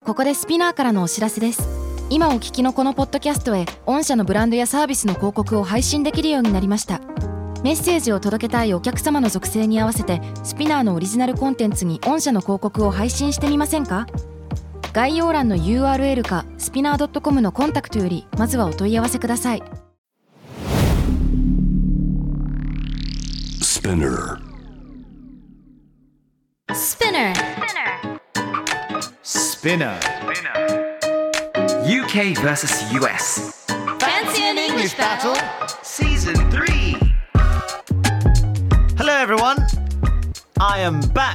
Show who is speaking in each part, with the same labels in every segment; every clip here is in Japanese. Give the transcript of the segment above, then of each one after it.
Speaker 1: ここでスピナーからのお知らせです。今お聞きのこのポッドキャストへ御社のブランドやサービスの広告を配信できるようになりました。メッセージを届けたいお客様の属性に合わせてスピナーのオリジナルコンテンツに御社の広告を配信してみませんか？概要欄の URL かスピナー .com のコンタクトよりまずはお問い合わせください。
Speaker 2: Spinner
Speaker 3: UK vs US
Speaker 1: Fancy an English battle
Speaker 3: Season 3.
Speaker 4: Hello everyone, I am back.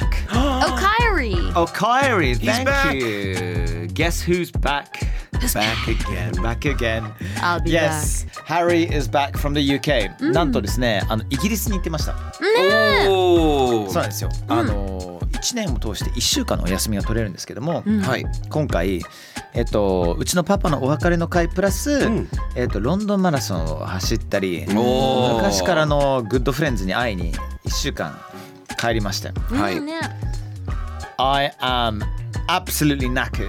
Speaker 1: Oh,
Speaker 4: Kyrie, thank
Speaker 3: back.
Speaker 4: you. Guess who's back?
Speaker 3: Back again.
Speaker 4: Back again.
Speaker 1: I'll be
Speaker 4: Yes, Harry is back from the UK. なんとですね、イギリスに行ってました。
Speaker 3: お
Speaker 4: そうなんですよ。1年を通して1週間のお休みが取れるんですけども、
Speaker 3: はい。
Speaker 4: 今回、うちのパパのお別れの会プラス、ロンドンマラソンを走ったり、
Speaker 3: おー
Speaker 4: 昔からのグッドフレンズに会いに1週間帰りました。
Speaker 3: はい。
Speaker 4: I am absolutely knackered.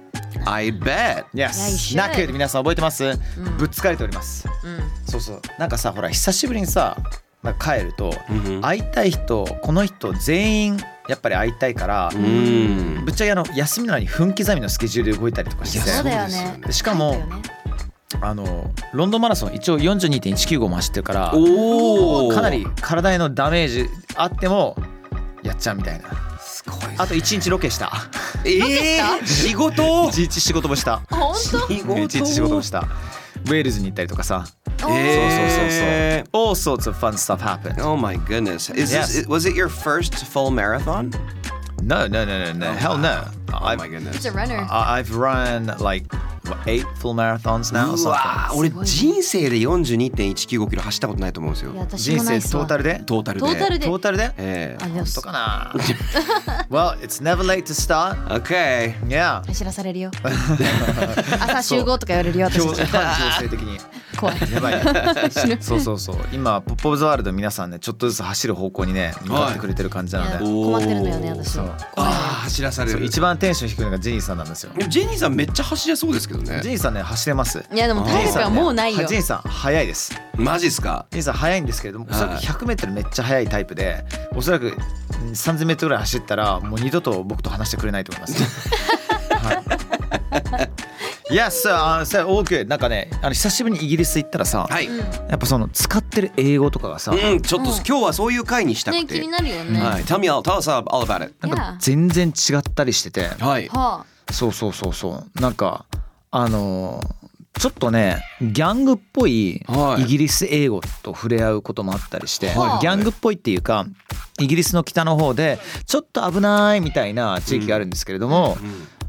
Speaker 3: I bet.
Speaker 4: Yes.
Speaker 1: Yeah, you should.
Speaker 4: knackered 皆さん覚えてます？ぶっ疲れております。そうそう。なんかさ、ほら久しぶりにさ、なんか帰ると、会いたい人、この人全員やっぱり会いたいから、ぶっちゃけ休みなのに分刻みのスケジュールで動いたりとかしてて、
Speaker 1: そうだよね。
Speaker 4: でしかもロンドンマラソン一応 42.195 も走ってるから
Speaker 3: おー
Speaker 4: かなり体へのダメージあってもやっちゃうみたいな。
Speaker 3: すごいですね。
Speaker 4: あと1日ロケした。
Speaker 3: 仕事
Speaker 4: 1日仕事もした。
Speaker 1: 本当
Speaker 4: 1日仕事もした。ウェールズに行ったりとかさ。そうそうそうそう。All sorts of fun stuff happened.
Speaker 3: Oh my goodness.
Speaker 4: Yes.
Speaker 3: Was it your first full marathon?
Speaker 4: No. Hell no.
Speaker 3: Oh my goodness.
Speaker 1: It's a runner.
Speaker 4: I've run like 8 full marathons now or
Speaker 3: う
Speaker 4: something.
Speaker 3: わ俺人生で 42.195 キロ走ったことないと思うんですよ。
Speaker 1: 私
Speaker 4: 人生
Speaker 1: もないっすわ
Speaker 4: トータルで
Speaker 3: トータルで。
Speaker 1: トータルで
Speaker 4: トータルで
Speaker 1: あ、でも
Speaker 4: 本当かなWell, it's never late to start.
Speaker 3: Okay.
Speaker 4: Yeah.
Speaker 1: 走らされるよ。朝集合とか言われるよ、私
Speaker 4: 強
Speaker 1: たち。
Speaker 4: 制的に
Speaker 1: 怖い。
Speaker 4: やばいそう今ポップオブザワールド皆さんねちょっとずつ走る方向にね向かってくれてる感じなので、
Speaker 1: 困ってるのよね、私。
Speaker 4: そう
Speaker 3: 走らされる。
Speaker 4: 一番テンション低いのがジェニーさんなんですよ。
Speaker 3: でもジェニーさんめっちゃ走れそうですけどね
Speaker 4: ジェ。ニーさんね走れます。
Speaker 1: いやでも体力はもうないよ。
Speaker 4: ジェニーさん早いです。
Speaker 3: マジっすか。
Speaker 4: ジェニーさん早いんですけれども、おそらく 100m めっちゃ速いタイプで、おそらく 3000m ぐらい走ったらもう二度と僕と話してくれないと思います。Yes, all good. なんかね、久しぶりにイギリス行ったらさ、
Speaker 3: はい。
Speaker 4: やっぱその使ってる英語とかがさ、
Speaker 3: ちょっと今日はそういう回にしたく
Speaker 1: ね、
Speaker 3: て。
Speaker 1: 気になるよね。
Speaker 3: はい。Tell us all about it.
Speaker 4: なんか全然違ったりしてて、
Speaker 3: はい。
Speaker 1: は
Speaker 4: そうなんかちょっとねギャングっぽい
Speaker 3: はい
Speaker 4: イギリス英語と触れ合うこともあったりして、
Speaker 1: はい
Speaker 4: ギャングっぽいっていうかイギリスの北の方でちょっと危ないみたいな地域があるんですけれども、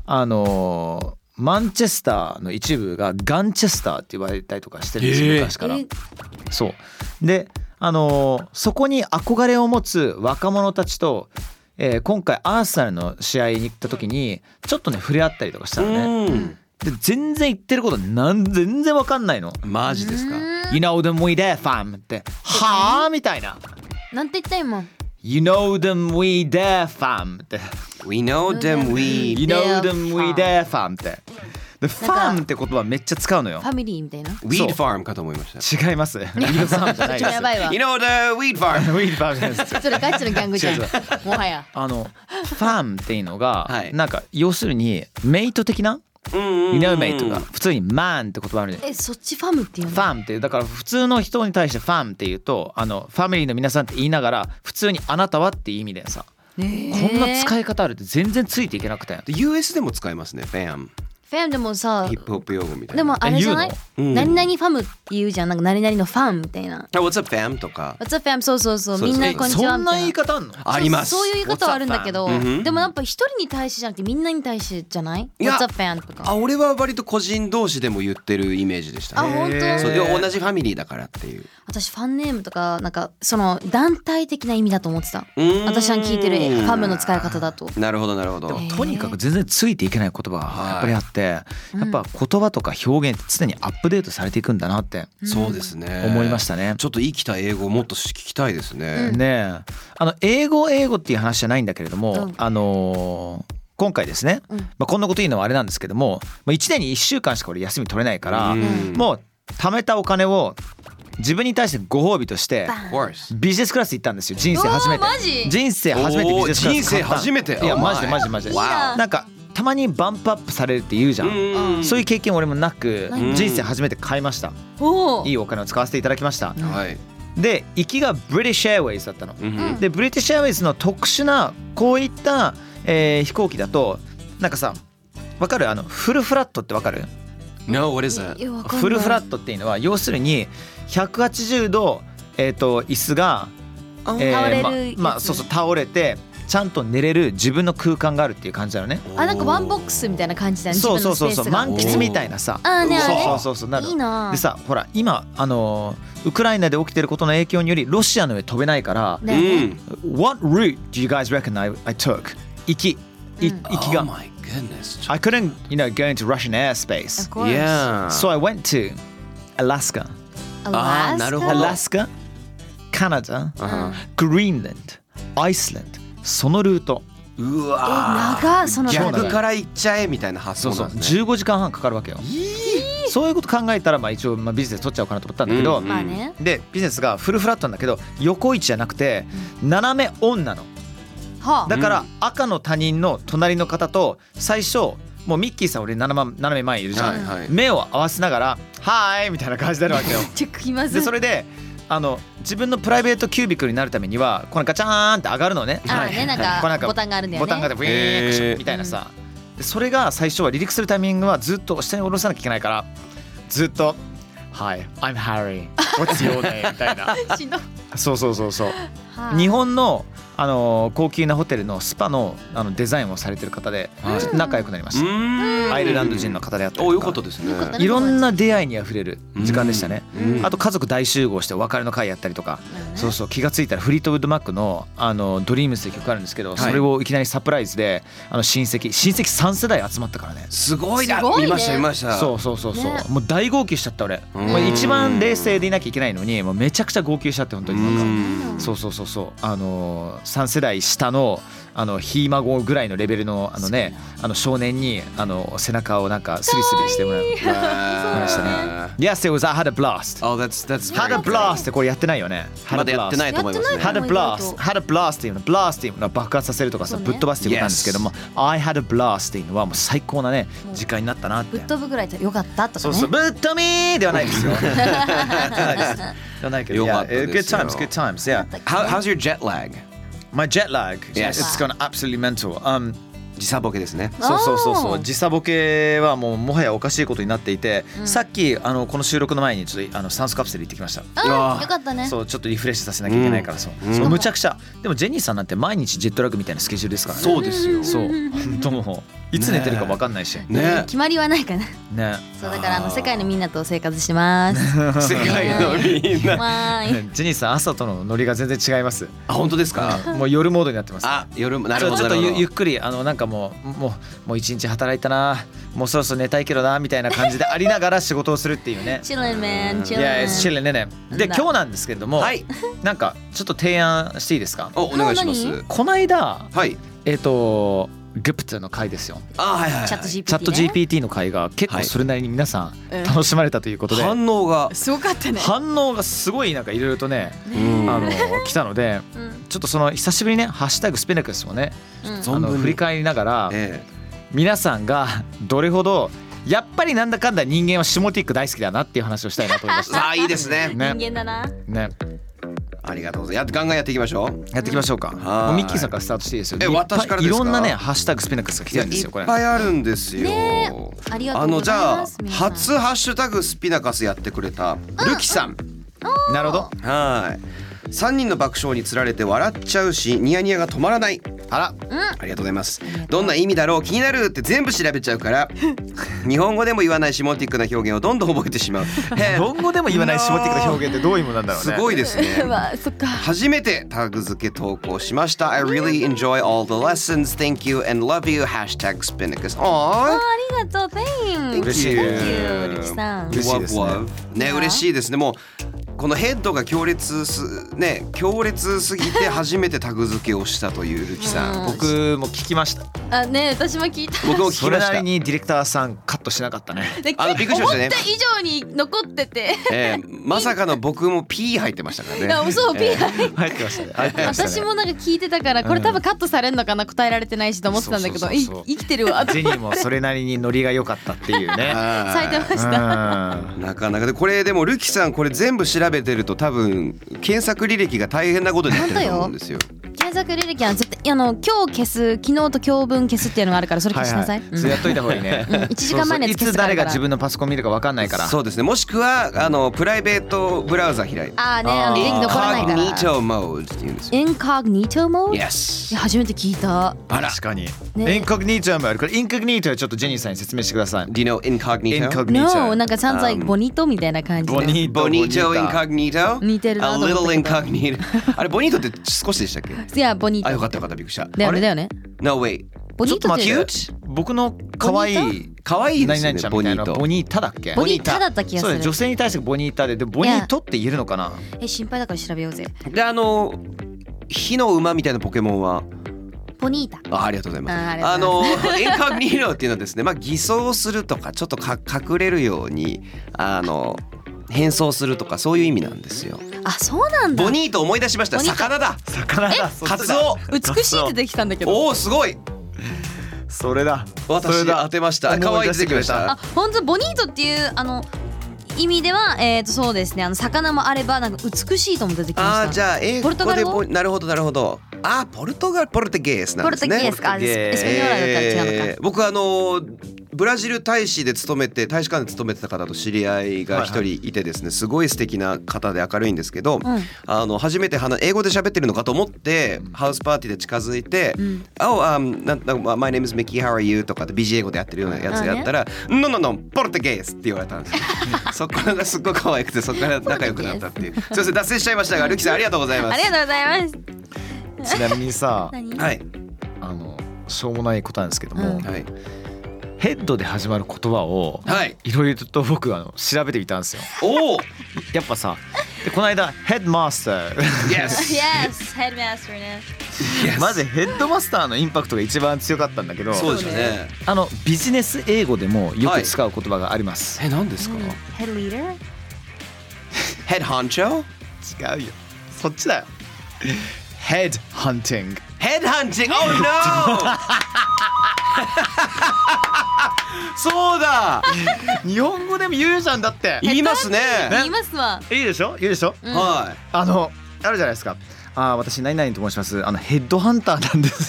Speaker 4: マンチェスターの一部がガンチェスターって言われたりとかしてるんですよ、昔から。そうでそこに憧れを持つ若者たちと、今回アーセナルの試合に行った時にちょっとね触れ合ったりとかしたのね。で全然言ってること全然わかんないの。
Speaker 3: マジですか。
Speaker 4: You know them we there fam ってはぁみたいな。
Speaker 1: なんて言った今。
Speaker 4: You know them we there fam って
Speaker 3: We know them we.
Speaker 4: You know them we there fam ってでファンって言葉めっちゃ使うのよ。
Speaker 1: ファミリーみたいな。
Speaker 3: Weed farm かと思いました。
Speaker 4: 違います。ウィードファームじゃないです。
Speaker 1: やばいわ。
Speaker 3: You know the weed farm.
Speaker 4: ウィードファームです。
Speaker 1: それガチのギャングじゃん。
Speaker 4: 違う
Speaker 1: もはや。
Speaker 4: ファンっていうのが、
Speaker 3: はい
Speaker 4: なんか要するにメイト的な、You know mate が普通に man って言葉あるね。
Speaker 1: そっちファムっていうの。
Speaker 4: ファンっていうだから普通の人に対してファンっていうとファミリーの皆さんって言いながら普通にあなたはっていう意味でさ、こんな使い方あるって全然ついていけなくて。
Speaker 3: US でも使いますね。Fam。
Speaker 1: ファムでもさ
Speaker 3: ヒップホップ用語みたいな。
Speaker 1: でもあれじゃない、
Speaker 3: 言うの
Speaker 1: 何々ファムって言うじゃん。なんか何々のファンみたいな。
Speaker 3: What's up fam とか。
Speaker 1: What's up fam そうそうそう。
Speaker 3: そうです
Speaker 1: みんなこんにちは
Speaker 4: そんな
Speaker 1: みたいな。
Speaker 4: 言い方あんの？
Speaker 3: あります。
Speaker 1: そういう言い方はあるんだけど、
Speaker 3: What's up, fam？
Speaker 1: でもやっぱ一人に対してじゃなくてみんなに対してじゃない？
Speaker 3: いや
Speaker 1: What's up fam とか。
Speaker 3: 俺は割と個人同士でも言ってるイメージでしたね。
Speaker 1: あ本当？
Speaker 3: そうで同じファミリーだからっていう。
Speaker 1: 私ファンネームとかなんかその団体的な意味だと思ってた。私が聞いてるファムの使い方だと。
Speaker 3: なるほどなるほど。
Speaker 4: とにかく全然ついていけない言葉がやっぱりあって、やっぱ言葉とか表現って常にアップデートされていくんだなって
Speaker 3: そうですね。
Speaker 4: 思いましたね。
Speaker 3: ちょっと生きた英語をもっと聞きたいですね。
Speaker 4: ねえ英語っていう話じゃないんだけれども、 今回ですね、こんなこと言うのはあれなんですけども、1年に1週間しか俺休み取れないから、もう貯めたお金を自分に対してご褒美としてビジネスクラス行ったんですよ。人生初めて。人生初めてビジネスクラス。
Speaker 3: 人生初めて。
Speaker 4: いやマジでなんかたまにバンプアップされるって言うじゃん、そういう経験俺もなく、人生初めて買いました。いいお金を使わせていただきました。で行きがブリティッシュエアウェイズだったの、でブリティッシュエアウェイズの特殊なこういった、飛行機だとなんかさ、わかる？フルフラットってわかる？
Speaker 3: No, what is that?
Speaker 4: フルフラットっていうのは要するに180度、椅子が、
Speaker 2: 倒れる
Speaker 4: そう倒れてちゃんと寝れる自分の空間があるっていう感じなのね。
Speaker 2: なんかワンボックスみたいな感じだね。
Speaker 4: そう満喫みたいなさ。そうなる。
Speaker 2: いいな。
Speaker 4: でさ、ほら今ウクライナで起きてることの影響によりロシアの上飛べないから、What route do you guys reckon I took? 行きが。
Speaker 3: Oh my goodness.
Speaker 4: I couldn't, go into Russian airspace.
Speaker 2: Of course.
Speaker 3: Yeah.
Speaker 4: So I went to Alaska.
Speaker 3: なるほど。
Speaker 4: Alaska, Canada, Greenland, Iceland. そのルート。
Speaker 3: うわ。
Speaker 2: 長その
Speaker 3: 逆から行っちゃえみたいな発想なんですね。
Speaker 4: 15時間半かかるわけよ。そういうこと考えたら一応ビジネス取っちゃおうかなと思ったんだけど、でビジネスがフルフラットなんだけど横位置じゃなくて斜めオンなの。だから赤の他人の隣の方と最初もうミッキーさん俺斜め前いるじゃん、目を合わせながらはーいみたいな感じになるわけよ。でそれで自分のプライベートキュービクルになるためにはこのガチャーンって上がるのね。
Speaker 2: なんかボタンがあるんだよね。
Speaker 4: ボタンがあってウィーンみたいなさ。でそれが最初は離陸するタイミングはずっと下に下ろさなきゃいけないからずっとHi, I'm Harry. What's your name? みたいな。そう。日本の高級なホテルのスパのデザインをされてる方でちょっと仲良くなりました。アイルランド人の方であったりとか。
Speaker 3: よかったですね。
Speaker 4: いろんな出会いにあふれる時間でしたね。あと家族大集合してお別れの会やったりとか。そう気がついたらフリートウッドマックのドリームスって曲あるんですけど、それをいきなりサプライズで親戚3世代集まったからね。
Speaker 3: すごいな。見ました。
Speaker 4: そうもう大号泣しちゃった俺。もう一番冷静でいなきゃいけないのにもうめちゃくちゃ号泣しちゃって本当になんか。そう3世代下のひい孫ぐらいのレベルの少年に背中をなんかスリスリしてもらいましたね。Yes, it was I had a blast.
Speaker 3: Oh, that's
Speaker 4: had a blast ってこれやってないよね。
Speaker 3: まだやってないと思いますね。
Speaker 4: had a blast っていうのblast っていうのは爆発させるとかさぶっ飛ばすっていうことなんですけども、I had a blast っていうのはもう最高なね時間になったなって。
Speaker 2: ぶっ飛ぶぐらい良かったとかね。
Speaker 4: ぶっ飛びーではないですよ。ではないけど。
Speaker 3: よかったですよ。
Speaker 4: Good times. Yeah.
Speaker 3: How's your jet lag?My
Speaker 4: jet lag, it's gone absolutely mental.
Speaker 3: 時差ボケですね。
Speaker 4: そう時差ボケはもはやおかしいことになっていて、さっきこの収録の前にちょっと酸素カプセル行ってきました。
Speaker 2: よかったね。
Speaker 4: そうちょっとリフレッシュさせなきゃいけないからそうむちゃくちゃ。でもジェニーさんなんて毎日ジェットラグみたいなスケジュールですからね。
Speaker 3: そうですよ。
Speaker 4: そう本当もういつ寝てるか分かんないし
Speaker 3: ね。
Speaker 2: 決まりはないかな。
Speaker 4: ね。
Speaker 2: そうだから世界のみんなと生活してます。
Speaker 3: 世界のみんな。
Speaker 4: ジェニーさん朝とのノリが全然違います。
Speaker 3: あ本当ですか。
Speaker 4: もう夜モードになってます。
Speaker 3: 夜なるほど。
Speaker 4: ちょっとゆっくりなんかもう一日働いたな、もうそろそろ寝たいけどなみたいな感じでありながら仕事をするっていうね。
Speaker 2: チルンメン。
Speaker 4: いやチルンね。で今日なんですけれども、なんかちょっと提案していいですか。
Speaker 3: お願いします。
Speaker 4: この間
Speaker 3: はい
Speaker 4: グプトの回ですよ。
Speaker 2: チャット
Speaker 4: GPT の回が結構それなりに皆さん楽しまれたということで、
Speaker 3: 反応が
Speaker 2: すごかったね。
Speaker 4: 反応がすごいなんかいろいろとね来たので、ちょっと久しぶりにねハッシュタグスペネクスをね振り返りながら、皆さんがどれほどやっぱりなんだかんだ人間はシモティック大好きだなっていう話をしたいなと思いました。
Speaker 3: いいですね。
Speaker 2: 人間だな。
Speaker 4: ね。
Speaker 3: ありがとうございます。ガンガンやっていきましょう。
Speaker 4: やっていきましょうか。もうミッキーさんからスタートしていいですよ。
Speaker 3: 私からですか。
Speaker 4: いろんなねハッシュタグスペネクスが来てるんですよ。これ
Speaker 3: いっぱいあるんですよ。
Speaker 2: ありがとうございます。
Speaker 3: じゃあ初ハッシュタグスピナカスやってくれたルキさん。
Speaker 4: なるほど。
Speaker 3: 3人の爆笑につられて笑っちゃうしニヤニヤが止まらない。ありがとうございます。どんな意味だろう気になるって全部調べちゃうから日本語でも言わないシモティックな表現をどんどん覚えてしまう。
Speaker 4: 日本語でも言わないシモティックな表現ってどういうものなんだろうね。
Speaker 3: すごいですね。初めてタグ付け投稿しました。 I really enjoy all the lessons. Thank you and love you. Hashtag Spinnacus.
Speaker 2: ありがとう。Thanks.
Speaker 4: 嬉しい。
Speaker 2: ルキさん。
Speaker 4: 嬉しいですね。
Speaker 3: ね嬉しいですね。もうこのヘッドが強烈すぎて初めてタグ付けをしたというルキさん。
Speaker 4: 僕も聞きました。
Speaker 2: あね、私も聞いた。
Speaker 3: 僕も聞き
Speaker 4: それ
Speaker 3: ました。
Speaker 4: なりにディレクターさんカットしなかったね。
Speaker 2: で
Speaker 3: びっくりしましたね。
Speaker 2: 思った以上に残ってて。
Speaker 3: まさかの僕も P 入ってましたからね。
Speaker 2: いやそう P
Speaker 4: 入ってましたね。入ってましたね。
Speaker 2: 私もなんか聞いてたからこれ多分カットされるのかな、答えられてないしと思ってたんだけど、
Speaker 4: そうそうそうそう
Speaker 2: 生きてるわ。
Speaker 4: ジェニーもそれなりにノリが良かったっていうね。
Speaker 2: 咲いてました。
Speaker 3: なかなかでこれでもルキさんこれ全部調べてると多分検索履歴が大変なことになってると思うんですよ。
Speaker 2: 検索履歴は絶対今日消す、昨日と今日分消すっていうのがあるからそれ消しなさい。
Speaker 4: それやっといた方がいいね。
Speaker 2: 1時間前のやつ消
Speaker 4: いつ誰が自分のパソコン見るか分かんないから。
Speaker 3: そうですね。もしくはプライベートブラウザ開いて。
Speaker 2: ああね、元気残らないから。
Speaker 3: Incognito mode って言うんですよ。
Speaker 2: Incognito mode？
Speaker 3: Yes。
Speaker 2: いや初めて聞いた。
Speaker 4: 確かに。
Speaker 2: ね、
Speaker 4: インコグニートもあるから、インコグニートはちょっとジェニーさんに説明してください。
Speaker 3: Do you know incognito?
Speaker 2: No、なんかsounds like bonito みたいな感じで。
Speaker 3: Bonito incognito？
Speaker 2: 似てるなと思ったけど。
Speaker 3: A little incognito。あれボニートって少しでしたっけ？
Speaker 2: いやボニート。
Speaker 3: あよかったよかったびっくりした。
Speaker 2: だよねだよね。
Speaker 3: No wait。
Speaker 2: ボニートって
Speaker 3: ちょっと待って。
Speaker 4: 僕の可愛い
Speaker 3: 可愛いですよね。
Speaker 4: ボニート。ボニータだっけ？
Speaker 2: ボニータだった気がする。
Speaker 4: そう女性に対してボニータで、ボニートって言えるのかな？
Speaker 2: 心配だから調べようぜ。
Speaker 3: で火の馬みたいなポケモンは
Speaker 2: ボニータ。
Speaker 3: ありがとうございます。インコグニートっていうのはですね、偽装するとかちょっと隠れるように変装するとかそういう意味なんですよ。
Speaker 2: あ、そうなんだ。
Speaker 3: ボニート思い出しました。魚だ。
Speaker 4: 魚だ。
Speaker 3: カツオ。
Speaker 2: 美しいってできたんだけど。
Speaker 3: おおすごい。
Speaker 4: それだ。
Speaker 3: 私当てました。可愛い出てきました。
Speaker 2: あ、本当ボニートっていう意味ではそうですね。魚もあればなんか美しいとも出てきました。
Speaker 3: あ、じゃあ英語でなるほどなるほど。ポルトゲースなんですね。
Speaker 2: ポルトゲースか。エスペニョーラだったら違うのか。
Speaker 3: 僕ブラジル大使館で勤めてた方と知り合いが一人いてですね、すごい素敵な方で明るいんですけど、初めて英語で喋ってるのかと思ってハウスパーティーで近づいて「My name is Mickey, how are you?」とかで BG 英語でやってるようなやつやったら「No, ポルトゲース」って言われたんですよ。そこがすっごい可愛くてそこから仲良くなったっていう。すいません脱線しちゃいましたがルキさんありがとうございます。
Speaker 2: ありがとうございます。
Speaker 4: ちなみにさ、
Speaker 3: はい、
Speaker 4: しょうもないことなんですけども、ヘッドで始まる言葉をいろいろと僕調べてみたんですよ。
Speaker 3: おお。
Speaker 4: やっぱさ、この間ヘッドマスター。
Speaker 2: Yes,ヘッドマスターね。
Speaker 4: まずヘッドマスターのインパクトが一番強かったんだけど、
Speaker 3: そうですよね。
Speaker 4: ビジネス英語でもよく使う言葉があります。
Speaker 3: 何ですか？
Speaker 2: ヘッドリーダー？
Speaker 3: ヘッドハンチョ？
Speaker 4: 違うよ。そっちだよ。ヘッドハンティング。
Speaker 3: ヘッドハンティング。Oh no！そうだ。
Speaker 4: 日本語でも言うじゃんだって。
Speaker 3: 言いますね。
Speaker 2: 言いますわ。
Speaker 4: いいでしょ？言うでしょ？
Speaker 3: はい。
Speaker 4: あるじゃないですか。私何々と申します。ヘッドハンターなんです。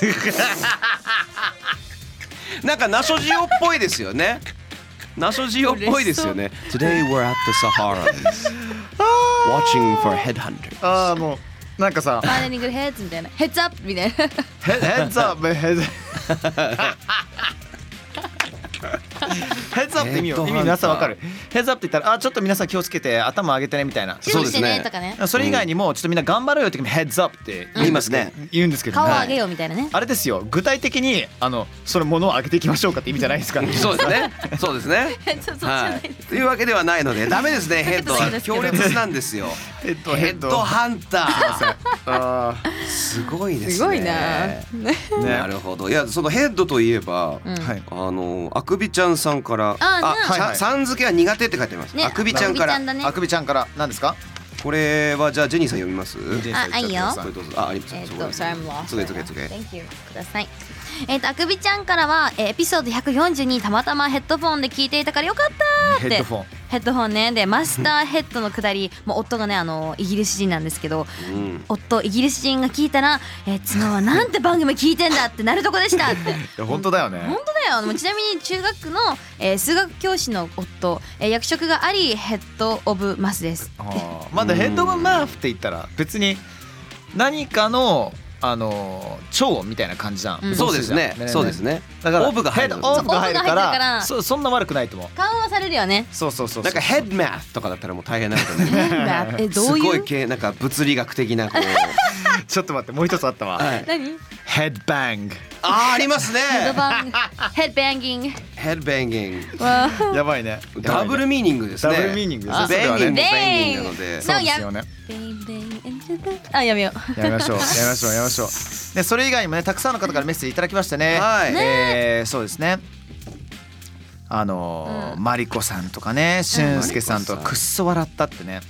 Speaker 3: なんかナショジオっぽいですよね。ナショジオっぽいですよね。Today we're at the Saharas watching for headhunters。
Speaker 4: もうなんかさ、
Speaker 2: ファイナリングヘッズみたいな、ヘッズアップみたいな。
Speaker 4: ヘッズアップヘッズ。ヘッズアップって意味皆さんわかる？ヘッズアップって言ったらちょっと皆さん気をつけて頭上げてねみたいな。
Speaker 3: そうですね。
Speaker 4: それ以外にもちょっとみんな頑張ろうよってヘッズアップって
Speaker 3: 言いますね。
Speaker 4: 言うんですけど、
Speaker 2: 顔を上げようみたいなね。
Speaker 4: あれですよ。具体的にそのものを上げていきましょうかって意味じゃないですか。
Speaker 3: そうですね。そうですね。というわけではないのでダメですね。ヘッドは強烈なんですよ。ヘッドハンター。すごいですね。
Speaker 2: すごいな。
Speaker 3: なるほど。いやそのヘッドといえばあくびちゃんさんからさん付けは苦手って書いてます。あくびちゃんから。
Speaker 4: あくびちゃんから何ですか？
Speaker 3: これはじゃあジェニーさん読みます？
Speaker 2: あ、いいよ。
Speaker 3: あります。
Speaker 2: Sorry, I'm lost.
Speaker 3: すごい。
Speaker 2: Thank you. ください。あくびちゃんからはエピソード142たまたまヘッドフォンで聞いていたからよかったって。ヘッドフォンね。でマスターヘッドのくだり、もう夫がねイギリス人なんですけど、夫イギリス人が聞いたら妻はなんて番組聞いてんだってなるとこでしたって。
Speaker 4: 本当だよね。
Speaker 2: 本当だよ。ちなみに中学の数学教師の夫、役職がありヘッドオブマスです。
Speaker 4: まだヘッドオブマスって言ったら別に何かの超音みたいな感じじゃん、
Speaker 3: そうですね、そうですね。
Speaker 4: だから
Speaker 3: オーブが入る
Speaker 4: オーブが入るか
Speaker 2: オーブが入るから
Speaker 4: らそんな悪くないと思う。
Speaker 2: 緩和されるよね。
Speaker 4: そうそうそう。
Speaker 3: なんかヘッドマスとかだったらもう大変なことね。
Speaker 2: どういう
Speaker 3: すごい系なんか物理学的なこう
Speaker 4: ちょっと待って、もう一つあったわ。
Speaker 2: 何？
Speaker 4: ヘッドバング。
Speaker 3: ありますね。
Speaker 2: ヘッドバンギング。
Speaker 3: ヘッドバンギング。
Speaker 2: わ
Speaker 4: やばいね。
Speaker 3: ダブルミーニングですね。
Speaker 4: ダブルミーニングですね。
Speaker 3: ベンギング
Speaker 2: ベン
Speaker 3: ベンギングなので。
Speaker 4: そうですよね。
Speaker 2: あ、やめよう。
Speaker 4: やめましょう。でそれ以外にもね、たくさんの方からメッセージいただきましたね。
Speaker 3: はい。
Speaker 4: そうですね。マリコさんとかね、俊介さんとかくっそ笑ったってね。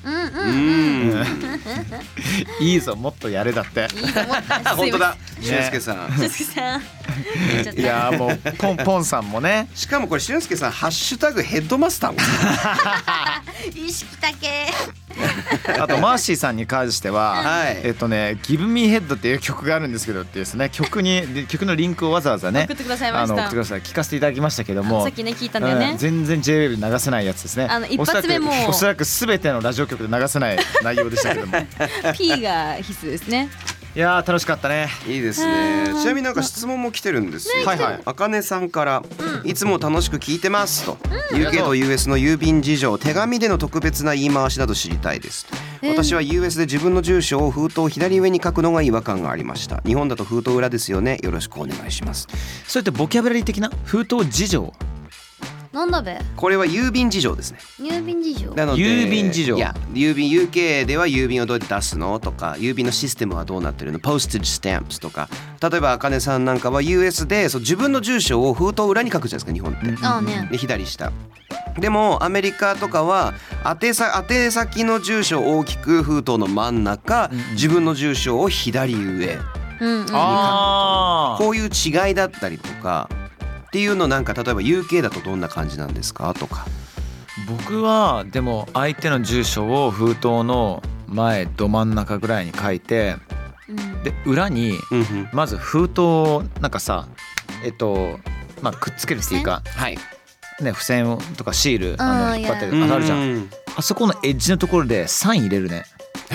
Speaker 4: いいぞ、もっとやれだって。
Speaker 3: 本当だ、俊介さん。
Speaker 2: 俊介さん。
Speaker 4: いやもうポンさんもね。
Speaker 3: しかもこれ俊介さんハッシュタグヘッドマスターも。
Speaker 2: 意識だけ。
Speaker 4: あとマーシーさんに関しては、Give Me Head っていう曲があるんですけどってですね、曲のリンクをわざわざね
Speaker 2: 送ってくださいました。
Speaker 4: 送ってください。聞かせていただきましたけども、
Speaker 2: さっきね聞いたんだよね。
Speaker 4: 全然 J-Wave で流せないやつですね。
Speaker 2: 一発目も
Speaker 4: おそらく全てのラジオ局で流せない内容でしたけども。
Speaker 2: P が必須ですね。
Speaker 4: いや楽しかったね。
Speaker 3: いいですね。ちなみになんか質問も来てるんですよ。あかねさんからいつも楽しく聞いてますと。UK と US の郵便事情、手紙での特別な言い回しなど知りたいです。私は US で自分の住所を封筒左上に書くのが違和感がありました。日本だと封筒裏ですよね。よろしくお願いします。
Speaker 4: それってボキャブラリー的な封筒事情。
Speaker 2: なんだべ。
Speaker 3: これは郵便事情ですね。
Speaker 2: 郵便事情。
Speaker 3: なので
Speaker 4: 郵便事情。
Speaker 3: いや、郵便 UK では郵便をどうやって出すのとか、郵便のシステムはどうなってるの、ポステージスタンプとか。例えばあかねさんなんかは US で自分の住所を封筒裏に書くじゃないですか、日本って。
Speaker 2: ああね。
Speaker 3: で左下。でもアメリカとかは宛先の住所を大きく封筒の真ん中、自分の住所を左上に書くとか、こういう違いだったりとかっていうの、なんか例えば UK だとどんな感じなんですかとか。
Speaker 4: 僕はでも相手の住所を封筒の前ど真ん中ぐらいに書いて、で裏にまず封筒をなんかさくっつけるっていうか、ね、付箋とかシール引っ張ってあるじゃん。あそこのエッジのところでサイン入れるね。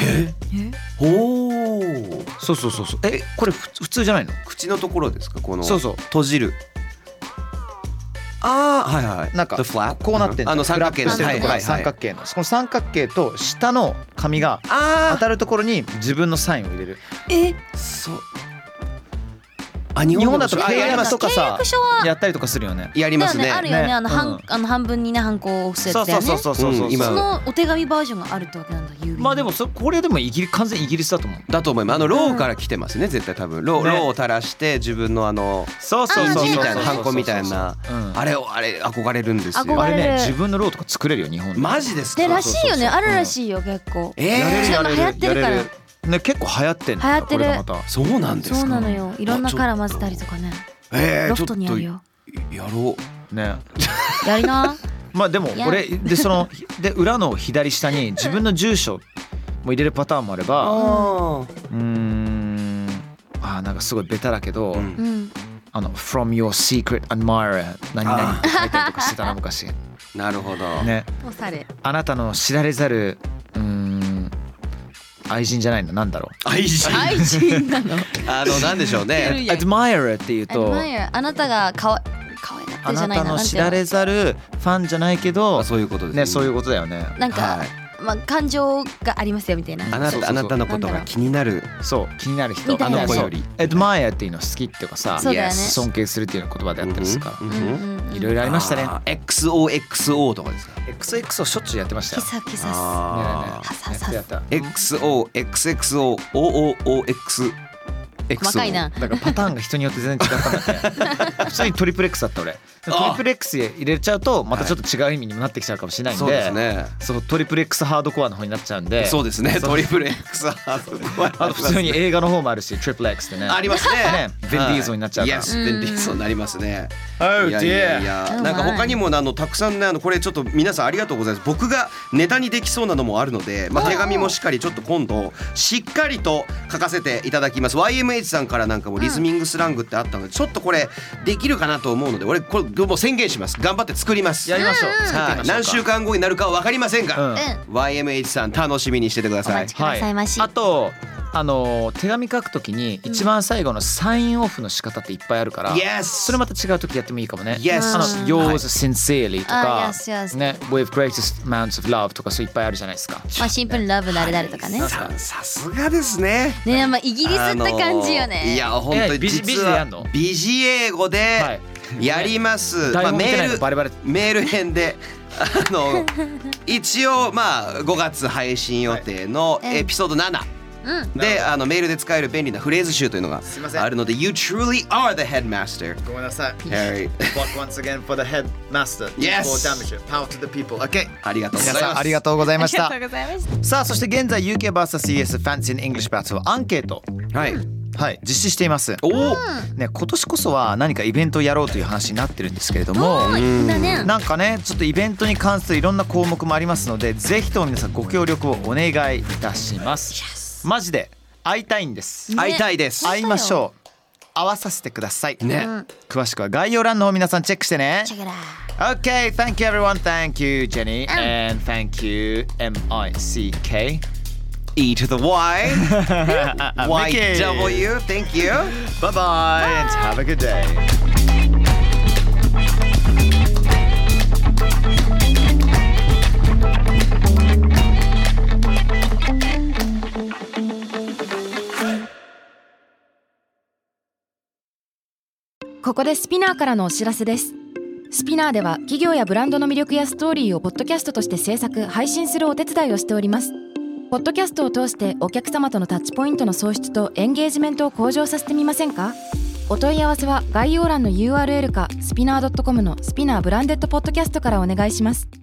Speaker 4: そうこれ普通じゃないの？
Speaker 3: 口のところですか？この
Speaker 4: そう
Speaker 3: 閉じる。
Speaker 4: なんかこうなってんの。
Speaker 3: 三角形の
Speaker 4: 三角形のその三角形と下の紙が当たるところに自分のサインを入れる。
Speaker 3: そう。
Speaker 4: 日本だと契約とかさ
Speaker 2: 契約書は
Speaker 4: やったりとかするよね。
Speaker 3: やりますね。
Speaker 2: あるよね。半分にねハンコを押すやつだよね。
Speaker 4: そう
Speaker 2: そのお手紙バージョンがあるってわけなんだ。
Speaker 4: まあでもこれでも完全イギリスだと思う。
Speaker 3: だと思います。ローから来てますね、絶対多分。ローを垂らして自分の
Speaker 4: そう
Speaker 3: みたいなハンコみたいな、あれ憧れれるんですよ。
Speaker 4: あれね、自分のローとか作れるよ日本で。
Speaker 3: マジですか？
Speaker 2: でらしいよね。あるらしいよ結構。
Speaker 4: やれる
Speaker 2: 流行ってるから。
Speaker 4: ね、結構流行ってんの。
Speaker 2: 流行ってる。
Speaker 3: そうなんですか？
Speaker 2: そうなのよ。いろんなカラー混ぜたりとかね。ロフトにあるよ。
Speaker 3: やろうね。
Speaker 2: やりな。
Speaker 4: まあでもこれで裏の左下に自分の住所も入れるパターンもあれば、なんかすごいベタだけど、From your secret admirer 何々って書いたりとかしてたな昔。
Speaker 3: なるほど
Speaker 4: ね。あなたの知られざる愛人じゃないの、なんだろう。
Speaker 3: 愛人
Speaker 2: なの。
Speaker 3: なんでしょうね。
Speaker 4: admirer っていうと、
Speaker 2: あなたが可愛がってるじゃないの。
Speaker 4: あなたの知られざるファンじゃないけど、
Speaker 3: そういうことです
Speaker 4: ね。そういうことだよね。
Speaker 2: なんか感情がありますよみたいな。
Speaker 3: あなたのことが気になる。
Speaker 4: そう気になる人。
Speaker 3: あの子より。
Speaker 4: admire っていうの好きっていうかさ、尊敬するっていう言葉であったりするから、いろいろありましたね。
Speaker 3: XOXO とかですか？
Speaker 4: XXO しょっちゅうやってましたよ。
Speaker 2: キサ
Speaker 3: XOXOOOOX。
Speaker 2: 細かいな。
Speaker 4: だからパターンが人によって全然違ったんだって。普通にトリプル X だった俺。トリプル X 入れちゃうとまたちょっと違う意味にもなってきちゃうかもしれないんで、
Speaker 3: そうですね。
Speaker 4: そうトリプル X ハードコアの方になっちゃうんで。
Speaker 3: そうですね。トリプル X ハードコア。
Speaker 4: あと普通に映画の方もあるし、トリプル X ってね。
Speaker 3: ありますね。
Speaker 4: ベンディーゾーになっちゃうから。
Speaker 3: ベンディーゾーになりますね。
Speaker 4: い
Speaker 3: やなんか他にもたくさんね、これちょっと皆さんありがとうございます。僕がネタにできそうなのもあるので、手紙もしっかりちょっと今度しっかりと書かせていただきます。YMH さんからなんかもリズミングスラングってあったので、ちょっとこれできるかなと思うので、俺これもう宣言します。頑張って作ります。
Speaker 4: やりましょう。
Speaker 3: 何週間後になるかは分かりませんが、YMH さん楽しみにしててください。
Speaker 2: お待ちくださいまし。
Speaker 4: あと手紙書くときに一番最後のサインオフの仕方っていっぱいあるから、
Speaker 3: Yes!
Speaker 4: それまた違うときやってもいいかもね。
Speaker 3: Yes!
Speaker 4: Yours sincerely とか、
Speaker 2: yes, yes.
Speaker 4: ね With greatest amounts of love とかそういっぱいあるじゃないですか。
Speaker 2: まあシンプルにラブ誰々とかね。
Speaker 3: さすがですね。
Speaker 2: ね、まあイギリスって感じよね。
Speaker 3: いや本当に
Speaker 4: ビジでやんの？
Speaker 3: ビジ英語でやります。まあメール編で。一応まあ5月配信予定のエピソード7でメールで使える便利なフレーズ集というのがあるので You truly are the headmaster.
Speaker 4: ごめんなさい。
Speaker 3: Harry.
Speaker 4: Once again for the headmaster.
Speaker 3: Yes.
Speaker 4: Power to the people. Okay.
Speaker 3: ありがとうございます。
Speaker 4: 皆さんありがとうございました。
Speaker 2: ありがとうございました。
Speaker 4: さあそして現在 UK vs.CS Fancy in English Battle アンケートはい実施しています。
Speaker 3: おお、
Speaker 4: ね、今年こそは何かイベントをやろうという話になってるんですけれども、なんかねちょっとイベントに関するいろんな項目もありますので、ぜひとも皆さんご協力をお願いいたします。マジで会いたいんです。
Speaker 3: 会いたいです。
Speaker 4: 会いましょう。会わさせてください
Speaker 3: ね。
Speaker 4: 詳しくは概要欄の方皆さんチェックしてね。
Speaker 2: Check it out.
Speaker 4: Okay, thank you everyone. Thank you Jenny and thank you MICK
Speaker 3: E to the Y
Speaker 4: Mickey.
Speaker 3: YW. Thank you.
Speaker 4: Bye bye and have a good day.
Speaker 1: ここでスピナーからのお知らせです。スピナーでは企業やブランドの魅力やストーリーをポッドキャストとして制作・配信するお手伝いをしております。ポッドキャストを通してお客様とのタッチポイントの創出とエンゲージメントを向上させてみませんか？お問い合わせは概要欄の URL かスピナー .com のスピナーブランデッドポッドキャストからお願いします。